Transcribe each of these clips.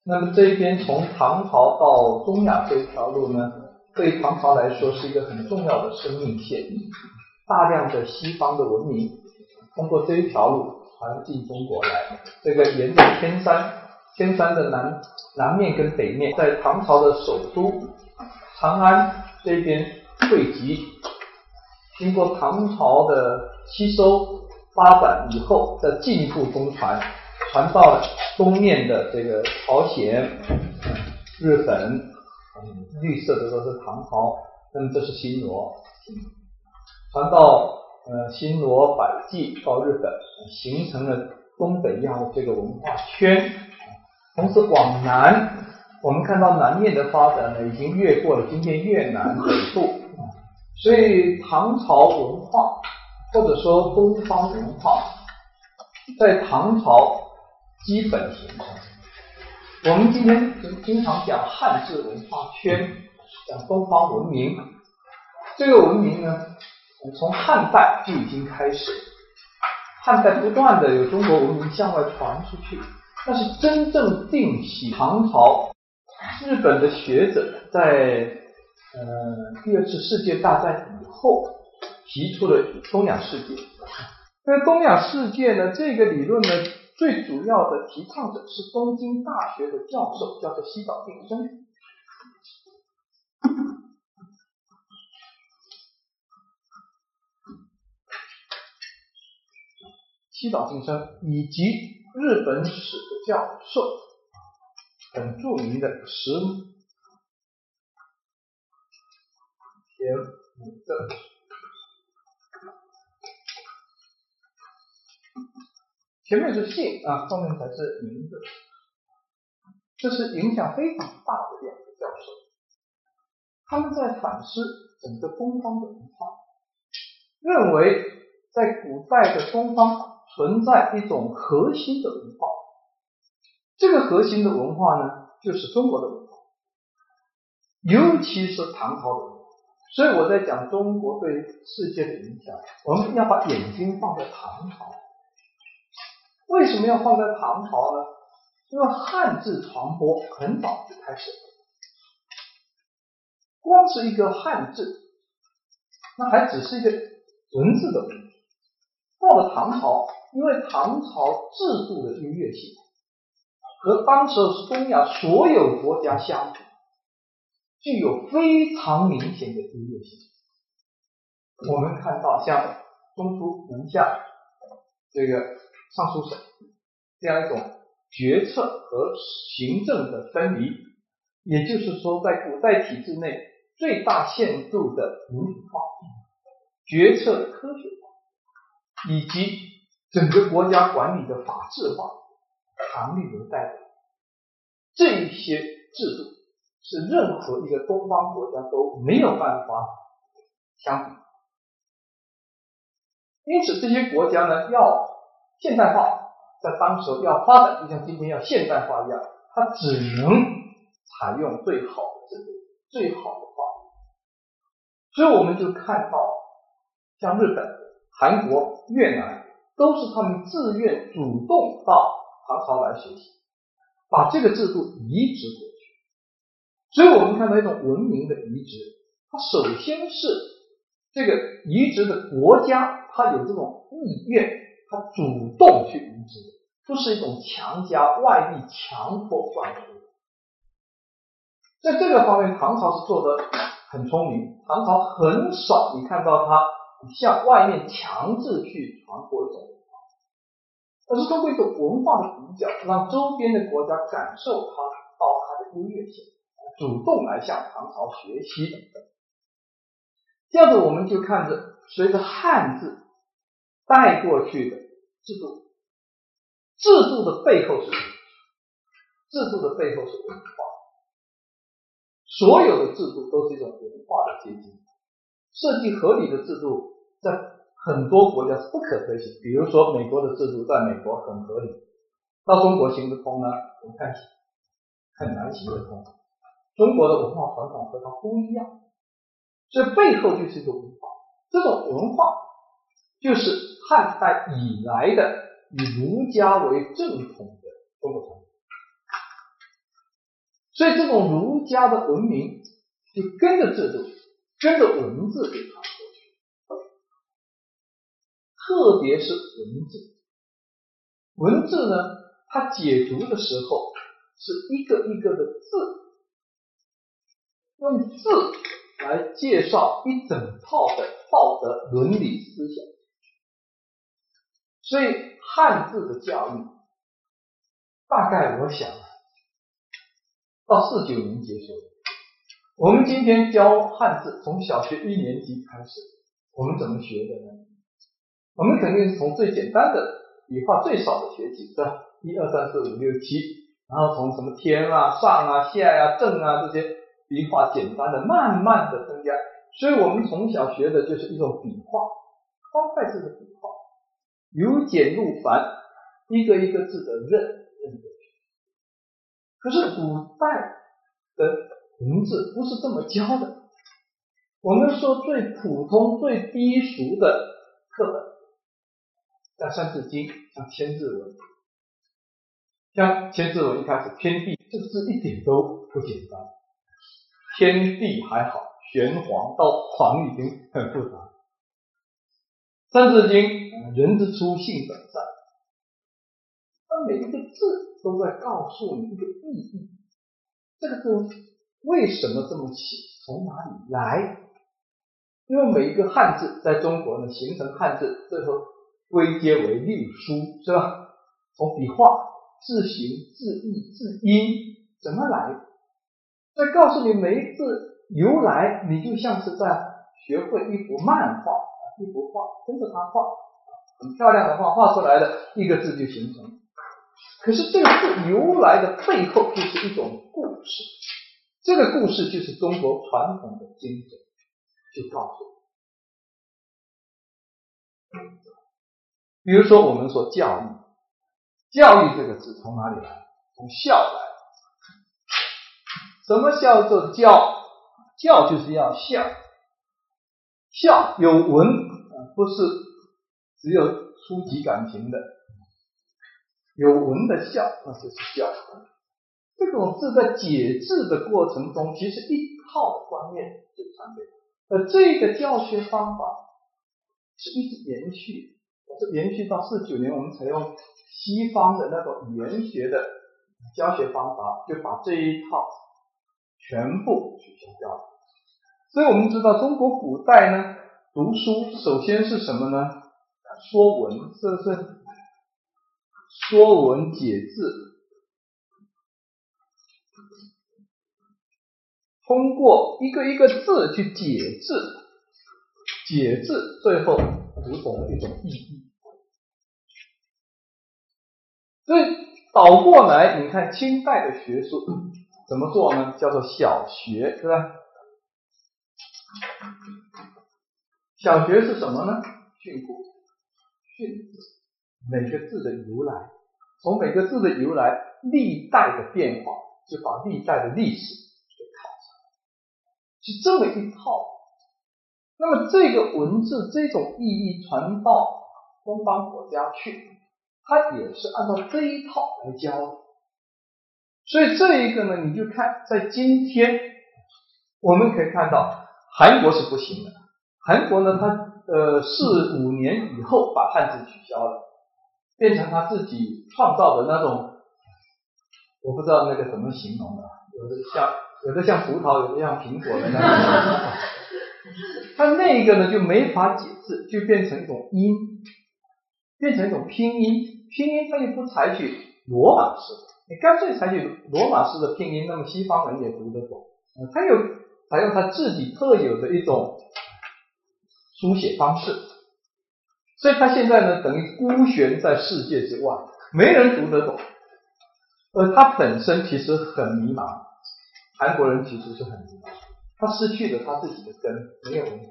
那么这一边从唐朝到中亚这一条路呢，对唐朝来说是一个很重要的生命线，大量的西方的文明通过这一条路传进中国来，这个沿着天山的南面跟北面，在唐朝的首都长安这边汇集，经过唐朝的吸收发展以后，再进一步中传到了东面的这个朝鲜、日本，绿色的都是唐朝，那么这是新罗，传到新罗、百济到日本，形成了东北亚的这个文化圈。同时往南，我们看到南面的发展呢，已经越过了今天越南北部，所以唐朝文化或者说东方文化在唐朝基本形成。我们今天经常讲汉字文化圈，讲东方文明，这个文明呢，从汉代就已经开始，汉代不断的有中国文明向外传出去，但是真正定起唐朝，日本的学者在第二次世界大战以后提出了东亚世界。那东亚世界呢，这个理论呢，最主要的提倡者是东京大学的教授，叫做西岛定生。西岛定生以及日本史的教授，很著名的石田武正。前面是姓啊，后面才是名字。这是影响非常大的两个教授，他们在反思整个东方的文化，认为在古代的东方存在一种核心的文化，这个核心的文化呢，就是中国的文化，尤其是唐朝的文化。所以我在讲中国对世界的影响，我们要把眼睛放在唐朝。为什么要放在唐朝呢？因为汉字传播很早就开始了，光是一个汉字，那还只是一个文字的问题。到了唐朝，因为唐朝制度的优越性和当时是东亚所有国家相比，具有非常明显的优越性。我们看到像中书门下这个尚书省这样一种决策和行政的分离，也就是说在古代体制内最大限度的民主化、决策的科学化，以及整个国家管理的法治化强力的代表，这一些制度是任何一个东方国家都没有办法相比。因此这些国家呢，要现代化，在当时要发展，就像今天要现代化一样，它只能采用最好的制度、最好的法律。所以我们就看到像日本、韩国、越南都是他们自愿主动到唐朝来学习，把这个制度移植过去。所以我们看到一种文明的移植，它首先是这个移植的国家，它有这种意愿，它主动去移植，不是一种强加外力强迫灌输。在这个方面，唐朝是做得很聪明。唐朝很少你看到它向外面强制去传播一种文化，而是通过一种文化的比较，让周边的国家感受它的优越性，主动来向唐朝学习等等。这样子我们就看着随着汉字带过去的制度，制度的背后是什么？制度的背后是文化。所有的制度都是一种文化的结晶。设计合理的制度在很多国家是不可推行，比如说美国的制度在美国很合理，到中国行得通呢，我们看很难行得通。中国的文化传统和它不一样，所以背后就是一个文化。这种文化就是汉代以来的以儒家为正统的中国传统。 所以这种儒家的文明就跟着制度，跟着文字就传过去，特别是文字。文字呢，它解读的时候是一个一个的字，用字来介绍一整套的道德伦理思想。所以汉字的教育，大概我想到49年结束。我们今天教汉字，从小学1年级开始，我们怎么学的呢？我们肯定是从最简单的笔画最少的学起，是吧？1、2、3、4、5、6、7，然后从什么天啊、上啊、下啊、正啊这些笔画简单的，慢慢的增加。所以我们从小学的就是一种笔画，方块字的笔画，由简入繁，一个一个字的认过去。可是古代的文字不是这么教的。我们说最普通、最低俗的课本，像《三字经》，像《千字文》。像《千字文》一开始，天地这个字一点都不简单，天地还好，玄黄到黄已经很复杂。三字经，人之初，性本善。它每一个字都在告诉你一个意义，这个字为什么这么起，从哪里来？因为每一个汉字在中国呢，形成汉字，最后归结为六书，是吧？从笔画、字形、字义、字音怎么来？再告诉你每一字由来，你就像是在学会一幅漫画，一幅画，跟着它画，很漂亮的画，画出来的一个字就形成。可是这个字由来的背后就是一种故事，这个故事就是中国传统的精神，就告诉我。比如说我们说教育，教育这个字从哪里来？从孝来。什么叫做教？教就是要孝，孝有文，不是只有初级感情的，有文的孝，那就是孝。这种字在解字的过程中，其实一套的观念就传给他。这个教学方法是一直延续，是延续到49年，我们采用西方的那种语言学的教学方法，就把这一套全部取消掉了。所以我们知道中国古代呢，读书首先是什么呢？说文，是不是？说文解字，通过一个一个字去解字，解字最后读懂了一种意义。所以倒过来，你看清代的学术怎么做呢？叫做小学，是吧？小学是什么呢？训诂，训字，每个字的由来，从每个字的由来，历代的变化，就把历代的历史给考察，是这么一套。那么这个文字这种意义传到东方国家去，它也是按照这一套来教的。所以这一个呢，你就看在今天我们可以看到韩国是不行的。韩国呢，它4、5年以后把汉字取消了，变成他自己创造的那种，我不知道那个怎么形容的，有的像葡萄，有的像苹果的那种。它那个呢就没法解字，就变成一种音，变成一种拼音。拼音它又不采取罗马式，你干脆采取罗马式的拼音，那么西方人也读得懂。它又采用它自己特有的一种书写方式，所以它现在呢等于孤悬在世界之外，没人读得懂。而它本身其实很迷茫，韩国人其实是很迷茫，他失去了他自己的根，没有文化。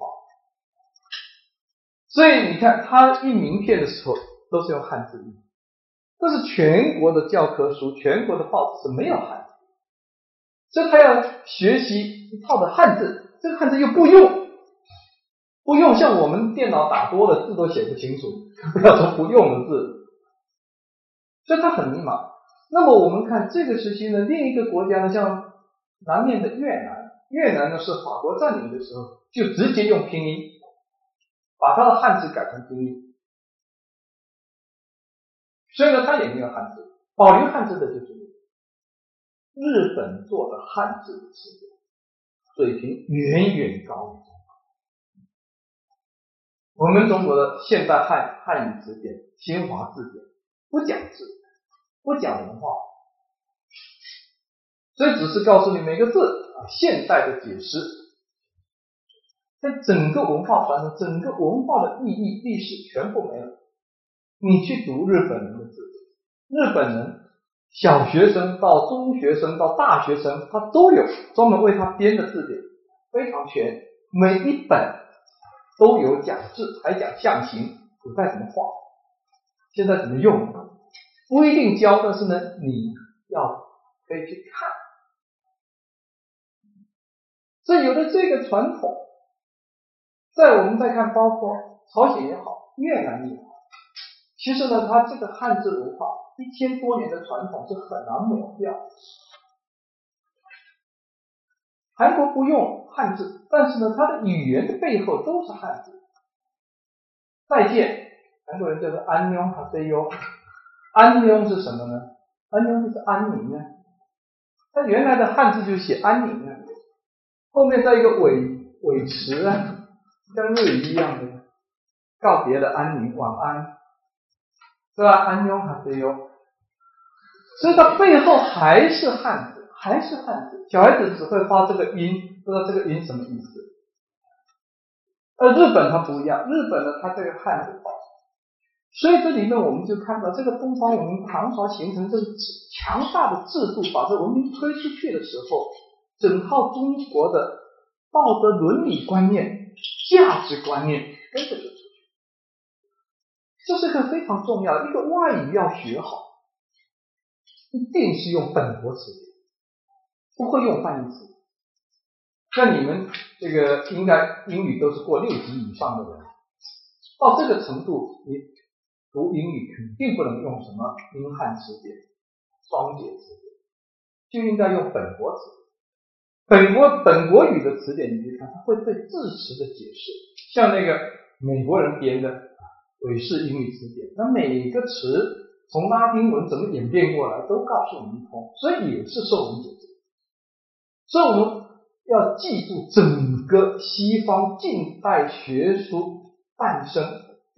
所以你看他印名片的时候都是用汉字印，但是全国的教科书、全国的报纸是没有汉字，所以他要学习一套的汉字，这个汉字又不用像我们电脑打多了字都写不清楚，不要说不用的字，所以他很迷茫。那么我们看这个时期呢，另一个国家呢，像南面的越南，越南呢是法国占领的时候就直接用拼音把它的汉字改成拼音，所以呢它也没有汉字，保留汉字的就是日本做的汉字的词典，水平远远高于中国。我们中国的现代汉语词典、新华字典不讲字，不讲文化，所以只是告诉你每个字现代的解释，但整个文化传承、整个文化的意义、历史全部没了。你去读日本人的字典，日本人小学生到中学生到大学生，他都有专门为他编的字典，非常全，每一本都有讲字，还讲象形，古代怎么画，现在怎么用，不一定教，但是呢，你要可以去看。所以有了这个传统，在我们再看，包括朝鲜也好，越南也好，其实呢，它这个汉字文化1000多年的传统是很难抹掉。韩国不用汉字，但是呢，它的语言的背后都是汉字。再见，韩国人叫做安녕 하세요，安녕是什么呢？安녕就是安宁啊，它原来的汉字就写安宁啊，后面再一个尾词啊，像日语一样的告别的安宁，晚安，是吧？安녕 하세요，所以它背后还是汉字，还是汉字。小孩子只会发这个音，不知道这个音什么意思。而日本它不一样，日本呢它这个汉字化，所以这里面我们就看到这个东方文明唐朝形成这个强大的制度，把这文明推出去的时候，整套中国的道德伦理观念、价值观念跟着就出去。这是个非常重要的一个外语要学好，一定是用本国词典，不会用翻译词。像你们这个应该英语都是过6级以上的人，到这个程度，你读英语肯定不能用什么英汉词典、双解词典，就应该用本国词典。本国语的词典，你去看，它会对字词的解释，像那个美国人编的韦氏英语词典，那每个词从拉丁文怎么演变过来，都告诉我们一通，所以也是受文解字。所以我们要记住整个西方近代学术诞生，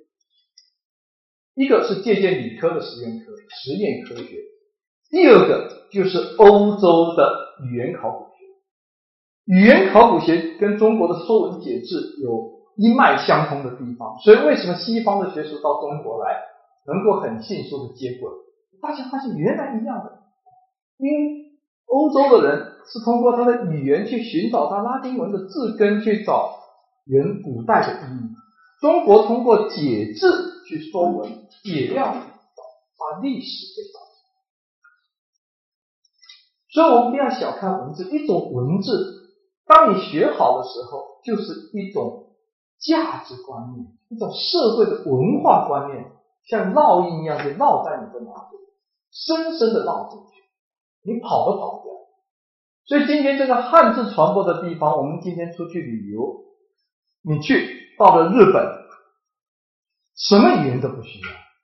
一个是借鉴理科的实验科学，第二个就是欧洲的语言考古学。语言考古学跟中国的说文解字有一脉相通的地方，所以为什么西方的学术到中国来能够很迅速的接轨？大家发现原来一样的，因为欧洲的人是通过他的语言去寻找他拉丁文的字根，去找原古代的意义。中国通过解字去说文，也要把历史给找。所以我们不要小看文字，一种文字，当你学好的时候，就是一种价值观念，一种社会的文化观念，像烙印一样就烙在你的脑子里，深深的烙进去，你跑都跑不掉。所以今天这个汉字传播的地方，我们今天出去旅游，你去到了日本，什么语言都不需要。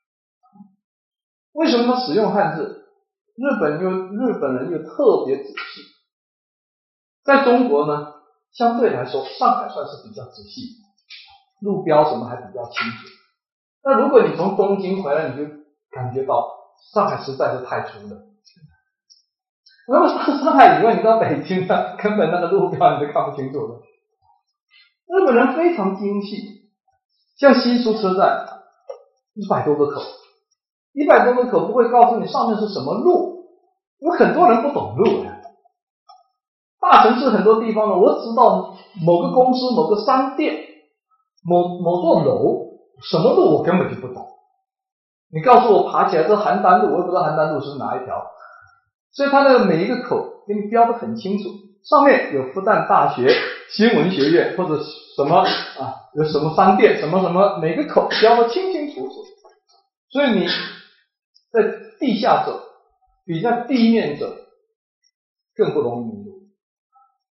为什么他使用汉字？日本人又特别仔细。在中国呢，相对来说上海算是比较仔细，路标什么还比较清楚。那如果你从东京回来，你就感觉到上海实在是太粗了。如果到上海以外，你到北京了，根本那个路标你都看不清楚了。日本人非常精细，像新宿车站100多个口，100多个口不会告诉你上面是什么路，因为很多人不懂路呀。大城市很多地方呢，我知道某个公司、某个商店、某座楼，什么路我根本就不懂。你告诉我爬起来这邯郸路，我也不知道邯郸路是哪一条。所以它的每一个口给你标得很清楚，上面有复旦大学新闻学院或者什么有什么商店什么什么，每个口标得清清楚楚。所以你在地下走比在地面走更不容易迷路。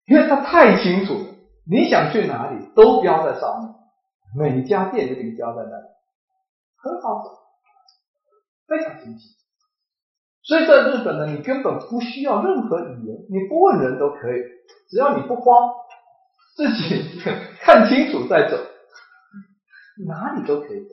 因为它太清楚了，你想去哪里都标在上面，每家店都给你标在那里，很好走，非常清晰。所以在日本呢，你根本不需要任何语言，你不问人都可以，只要你不慌，自己看清楚再走，哪里都可以走。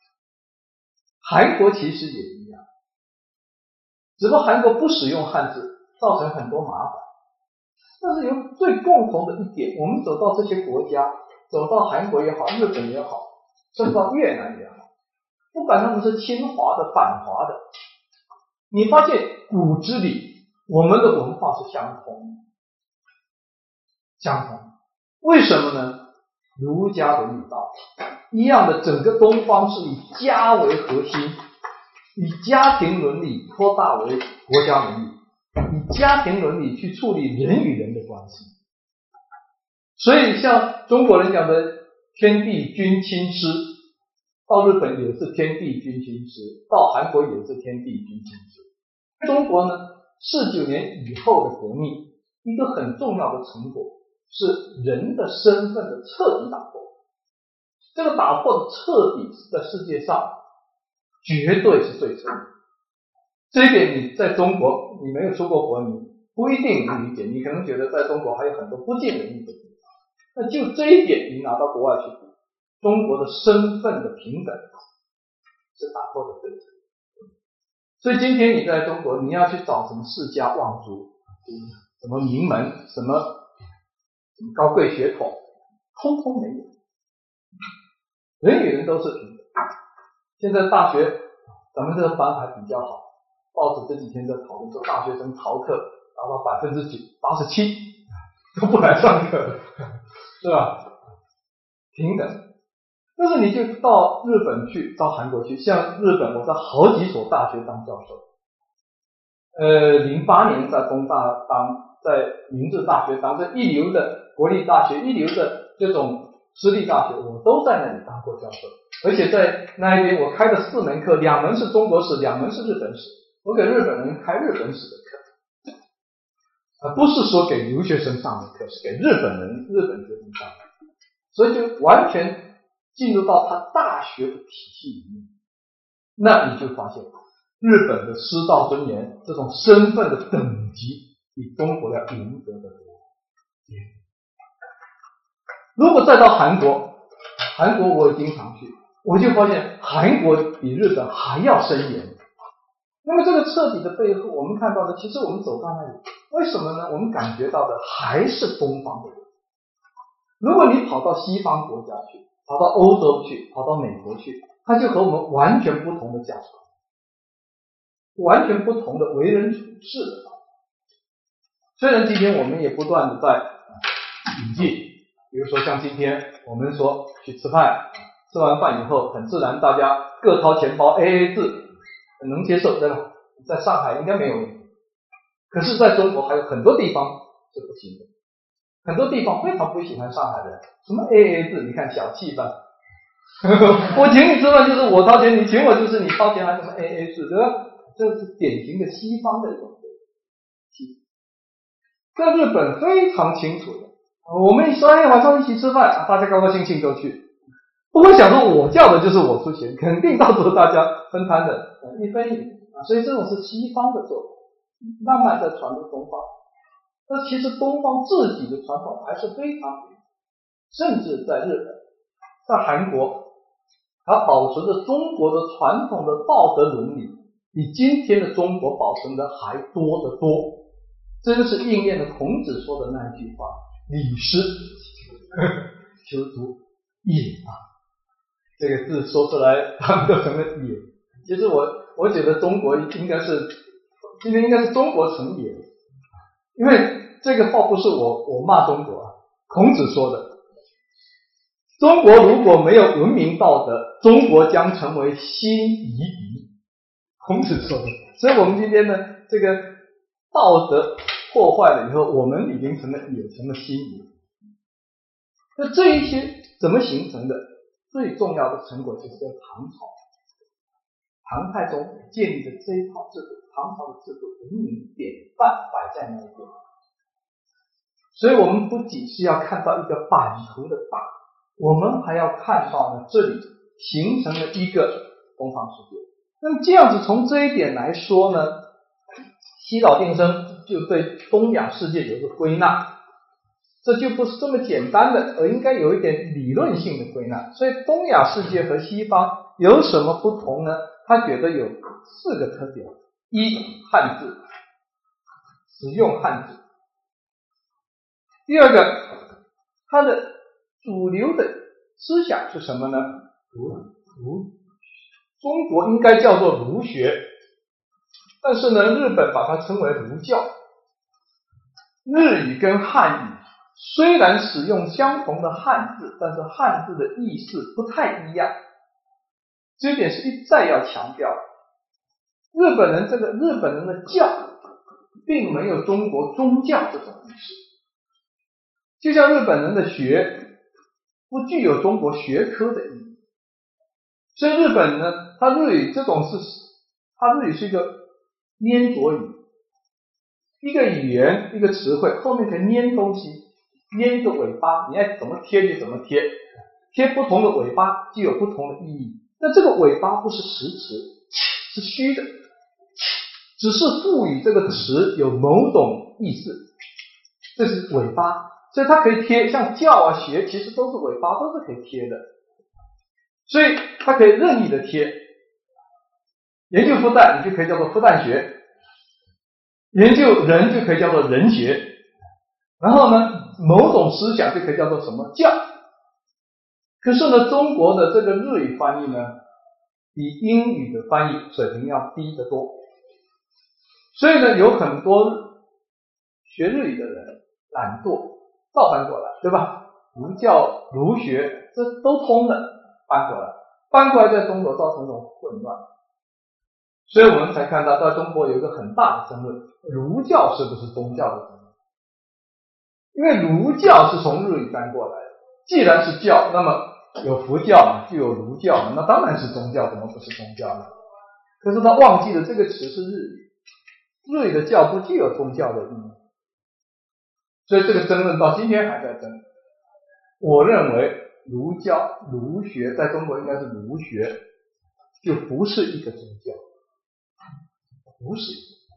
韩国其实也一样，只不过韩国不使用汉字，造成很多麻烦。但是有最共同的一点，我们走到这些国家，走到韩国也好，日本也好，甚至到越南也好，不管他们是亲华的反华的，你发现骨子里我们的文化是相同的，相同。为什么呢？儒家伦理道一样的，整个东方是以家为核心，以家庭伦理扩大为国家伦理，以家庭伦理去处理人与人的关系。所以像中国人讲的天地君亲师，到日本也是天地君亲师，到韩国也是天地君亲师。中国呢，49年以后的革命，一个很重要的成果是人的身份的彻底打破。这个打破的彻底是在世界上绝对是最彻底。这一点你在中国，你没有出过国，你不一定能理解，你可能觉得在中国还有很多不尽人意的地方。那就这一点你拿到国外去比，中国的身份的平等是打破的最彻底。所以今天你在中国，你要去找什么世家望族，什么名门，什么高贵血统，通通没有。人与人都是平等。现在大学咱们这个班还比较好，报纸这几天在讨论说大学生逃课达到87%都不来上课，是吧？平等。但是你就到日本去，到韩国去，像日本我在好几所大学当教授，08年在东大当，在明治大学当，这一流的国立大学，一流的这种私立大学，我都在那里当过教授。而且在那一边我开的4门课，2门是中国史，2门是日本史，我给日本人开日本史的课，不是说给留学生上的课，是给日本学生上的，所以就完全进入到他大学的体系里面。那你就发现日本的师道尊严这种身份的等级比中国要严格的多。如果再到韩国我也经常去，我就发现韩国比日本还要森严。那么这个彻底的背后，我们看到的，其实我们走到那里，为什么呢？我们感觉到的还是东方的人。如果你跑到西方国家去，跑到欧洲去，跑到美国去，它就和我们完全不同的价值观，完全不同的为人处事的方法。虽然今天我们也不断的在引进，比如说像今天我们说去吃饭，吃完饭以后很自然大家各掏钱包 AA 制，很能接受，对吧？在上海应该没有问题。可是在中国还有很多地方是不行的，很多地方非常不喜欢上海人，什么 AA 制，你看小气吧。我请你吃饭就是我掏钱，你请我就是你掏钱，还什么 AA 制，对吧？这是典型的西方的一种在日本非常清楚的，我们说晚上一起吃饭，大家高高兴兴都去，不会想说我叫的就是我出钱，肯定到时候大家分摊的一分一厘。所以这种是西方的做法，慢慢在传入东方。但其实东方自己的传统还是非常，甚至在日本，在韩国，它保持着中国的传统的道德伦理，比今天的中国保存的还多得多。真是应验了孔子说的那一句话：礼失求诸野啊。这个字说出来他们都成了野。其实我觉得中国应该是今天应该是中国成野，因为这个话不是我骂中国啊，孔子说的，中国如果没有文明道德，中国将成为新夷狄。孔子说的。所以我们今天呢，这个道德破坏了以后，我们已经成了也成了新夷。那这一些怎么形成的？最重要的成果就是在唐朝，唐太宗建立的这一套制度，唐朝的制度文明典范摆在那一边。 所以我们不仅是要看到一个版图的大，我们还要看到呢，这里形成了一个东方世界。那么这样子从这一点来说呢，西岛定生就对东亚世界有一个归纳，这就不是这么简单的，而应该有一点理论性的归纳。所以东亚世界和西方有什么不同呢？他觉得有4个特点：一、汉字，使用汉字；第二个，它的主流的思想是什么呢？中国应该叫做儒学，但是呢，日本把它称为儒教。日语跟汉语虽然使用相同的汉字，但是汉字的意思不太一样，这一点是一再要强调的。日本人的教并没有中国宗教这种意思，就像日本人的学不具有中国学科的意义。所以日本呢，它日语是一个粘着语，一个语言一个词汇后面可以粘东西，粘一个尾巴，你爱怎么贴就怎么贴，贴不同的尾巴就有不同的意义。那这个尾巴不是实词，是虚的，只是赋予这个词有某种意思，这是尾巴。所以它可以贴，像教啊学其实都是尾巴，都是可以贴的，所以它可以任意的贴。研究复旦你就可以叫做复旦学，研究人就可以叫做人学，然后呢某种思想就可以叫做什么教。可是呢中国的这个日语翻译呢比英语的翻译水平要低得多，所以呢有很多学日语的人懒惰照搬过来，对吧？儒教儒学这都通的，搬过来在中国造成一种混乱。所以我们才看到在中国有一个很大的争论，儒教是不是宗教的争论？因为儒教是从日语搬过来的，既然是教，那么有佛教嘛，就有儒教嘛，那当然是宗教，怎么不是宗教呢？可是他忘记了这个词是日语，日语的教不具有宗教的意义，所以这个争论到今天还在争。我认为儒教儒学在中国应该是儒学，就不是一个宗教，不是，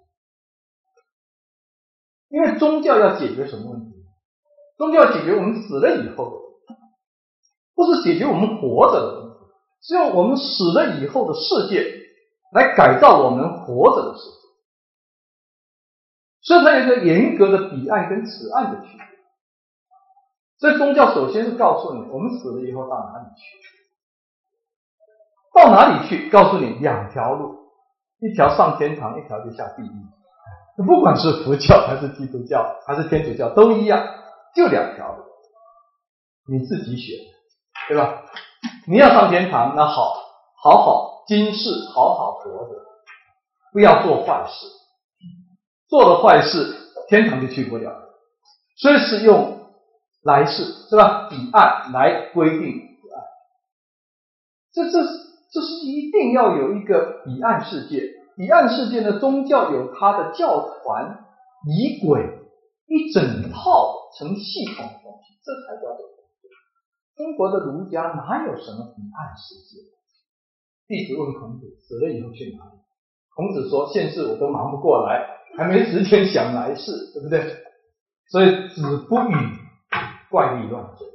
因为宗教要解决什么问题？宗教解决我们死了以后的问题，不是解决我们活着的问题，是用我们死了以后的世界来改造我们活着的世界。所以它有一个严格的彼岸跟此岸的区别。所以宗教首先是告诉你我们死了以后到哪里去，到哪里去告诉你2条路，一条上天堂，一条就下地狱。不管是佛教还是基督教还是天主教都一样，就2条路，你自己选，对吧？你要上天堂，那好好今世好好活着，不要做坏事，做了坏事天堂就去不了，所以是用来世，是吧？彼岸来规定彼岸，这是一定要有一个彼岸世界。彼岸世界呢，宗教有它的教团仪轨，一整套成系统的东西，这才叫做中国的儒家哪有什么彼岸世界？弟子问孔子，死了以后去哪里？孔子说，现世我都忙不过来，还没时间想来世，对不对？所以子不语怪力乱神。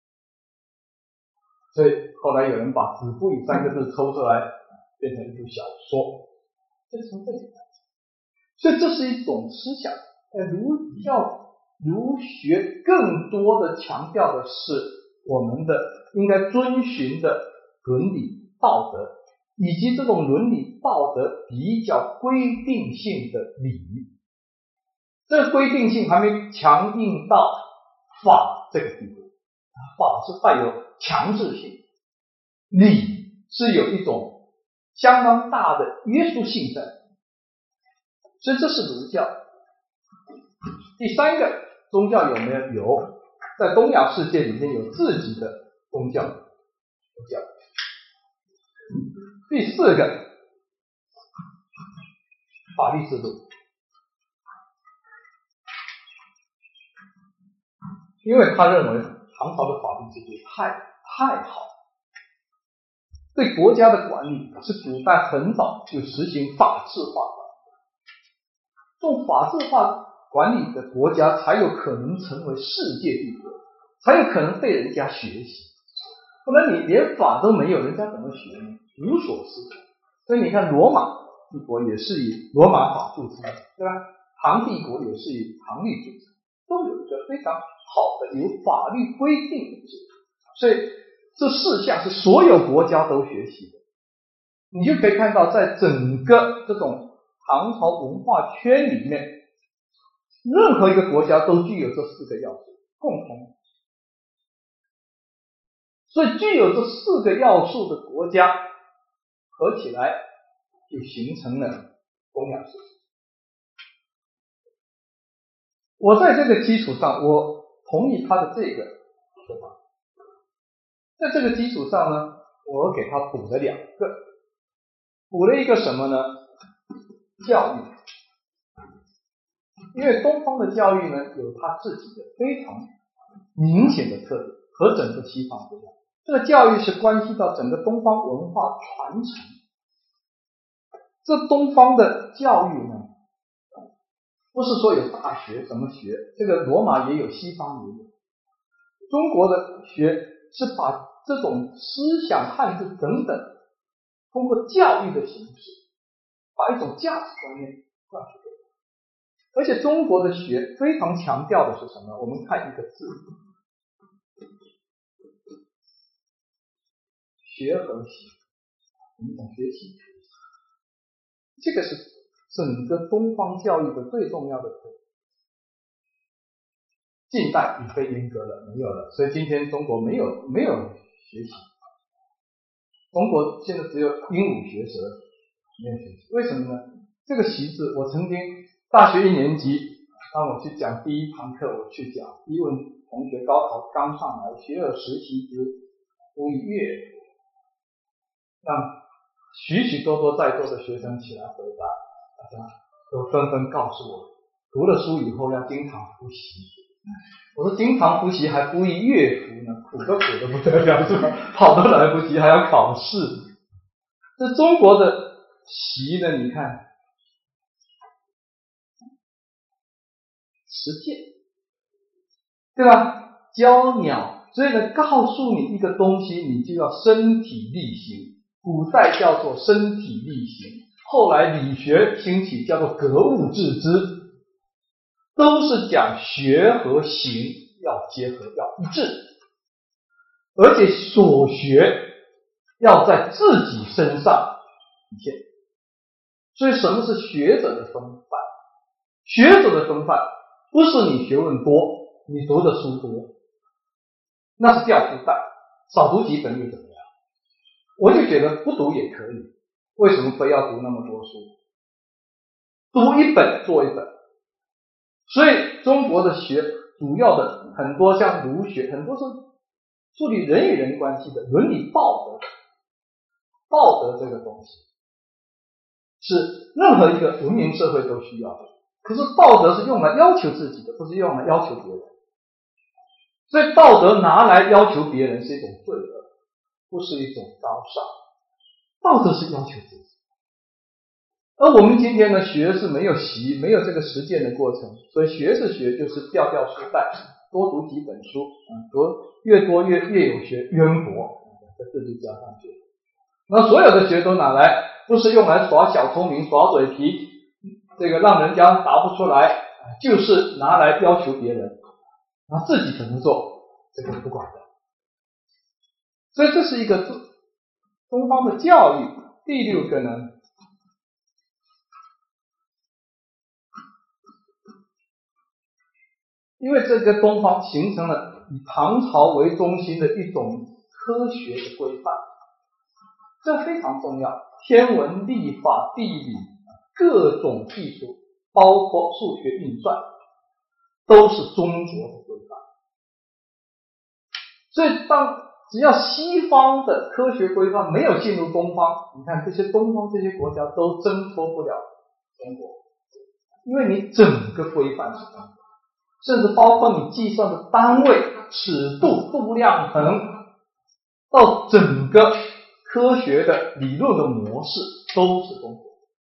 所以后来有人把子不语3个字抽出来变成一部小说，这从这里来。所以这是一种思想。儒教儒学更多的强调的是我们的应该遵循的伦理道德，以及这种伦理道德比较规定性的礼。这个规定性还没强硬到法这个地步，法是带有强制性，礼是有一种相当大的约束性在，所以这是儒教。第3个，宗教有没有？有，在东亚世界里面有自己的宗教。第4个，法律制度。 因为他认为唐朝的法律制度太好，对国家的管理是古代很早就实行法治化的，这种法治化管理的国家才有可能成为世界帝国，才有可能被人家学习。不然你连法都没有，人家怎么学呢？无所适从。所以你看罗马帝国也是以罗马法著称，对吧？唐帝国也是以唐律著称，都有一个非常好的有法律规定的制度。所以这4项是所有国家都学习的。你就可以看到，在整个这种唐朝文化圈里面，任何一个国家都具有这4个要素共同。所以具有这4个要素的国家合起来就形成了东亚社会。我在这个基础上，我同意他的这个说法。在这个基础上呢，我给他补了2个，补了一个什么呢？教育。因为东方的教育呢，有它自己的非常明显的特点，和整个西方不一样。这个教育是关系到整个东方文化传承。这东方的教育呢，不是说有大学怎么学，这个罗马也有，西方也有。中国的学是把这种思想、汉字等等，通过教育的形式，把一种价值观念灌输给他。而且中国的学非常强调的是什么？我们看一个字，学和习，我们讲学习，这个是整个东方教育的最重要的特点。近代已被阉割了，没有了，所以今天中国没有学习。中国现在只有鹦鹉学舌，没有学习。为什么呢？这个习字，我曾经大学1年级，当我去讲第1堂课，我去讲，一问同学高考刚上来，学而时习之，不亦乐乎？让许许多多在座的学生起来回答，大家都纷纷告诉我，读了书以后要经常复习。我说经常复习还不亦乐乎呢？苦都苦得不得了，是吧？跑都来不及，还要考试。这中国的习呢，你看，实践，对吧？教鸟，所以呢，告诉你一个东西，你就要身体力行。古代叫做身体力行，后来理学兴起，叫做格物致知，都是讲学和行要结合，要一致，而且所学要在自己身上体现。所以什么是学者的风范？学者的风范不是你学问多，你读的书多，那是掉书袋，少读几本又怎么样？我就觉得不读也可以，为什么非要读那么多书？读1本做1本。所以中国的学主要的很多像儒学，很多是处理人与人关系的伦理道德这个东西是任何一个文明社会都需要的。可是道德是用来要求自己的，不是用来要求别人。所以道德拿来要求别人是一种罪恶，不是一种高尚。道德是要求自己。而我们今天呢，学是没有习，没有这个实践的过程，所以学是学，就是掉书袋，多读几本书，读越多越有学，渊博，这字就加上去。那所有的学都拿来，不是用来耍小聪明、耍嘴皮，这个让人家答不出来，就是拿来要求别人，然后自己怎么做，这个不管的。所以这是一个东方的教育。第6个呢，因为这个东方形成了以唐朝为中心的一种科学的规范，这非常重要。天文、历法、地理各种技术，包括数学运算，都是中国的规范。所以只要西方的科学规范没有进入东方，你看这些东方这些国家都挣脱不了中国，因为你整个规范是中国。 甚至包括你计算的单位、尺度、度量衡，到整个科学的理论的模式都是中国。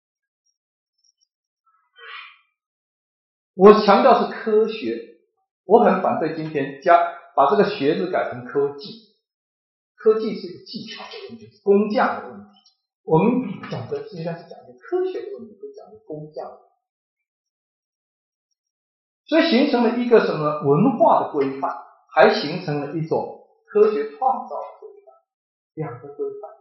我强调是科学，我很反对今天把这个学字改成科技。科技是一个技巧的问题，是工匠的问题。我们讲的应该是讲一个科学的问题，不是讲一个工匠的问题。所以形成了一个什么文化的规范，还形成了一种科学创造的规范，两个规范。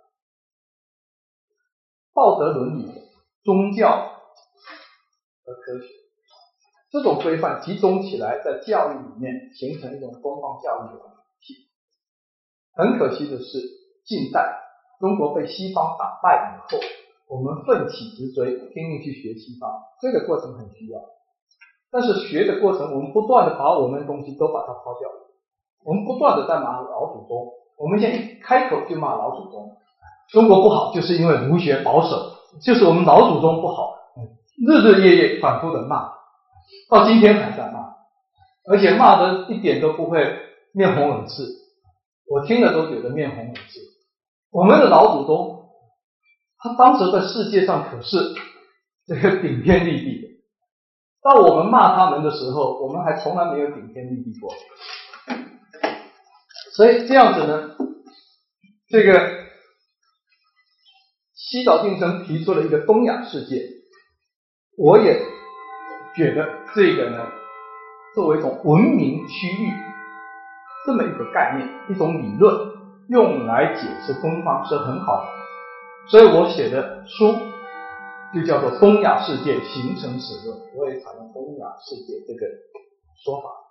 道德伦理、宗教和科学，这种规范集中起来，在教育里面形成一种东方教育的体系。很可惜的是，近代中国被西方打败以后，我们奋起直追，拼命去学西方，这个过程很需要。但是学的过程，我们不断的把我们的东西都把它抛掉，我们不断的在骂老祖宗。我们现在一开口就骂老祖宗，中国不好就是因为儒学保守，就是我们老祖宗不好，日日夜夜反复的骂，到今天还在骂，而且骂的一点都不会面红耳赤，我听了都觉得面红耳赤。我们的老祖宗，他当时在世界上可是这个顶天立地的，当我们骂他们的时候，我们还从来没有顶天立地过。所以这样子呢，这个西岛定生提出了一个东亚世界，我也觉得这个呢，作为一种文明区域这么一个概念，一种理论，用来解释东方是很好的。所以我写的书就叫做《东亚世界形成史论》，我也采用东亚世界这个说法。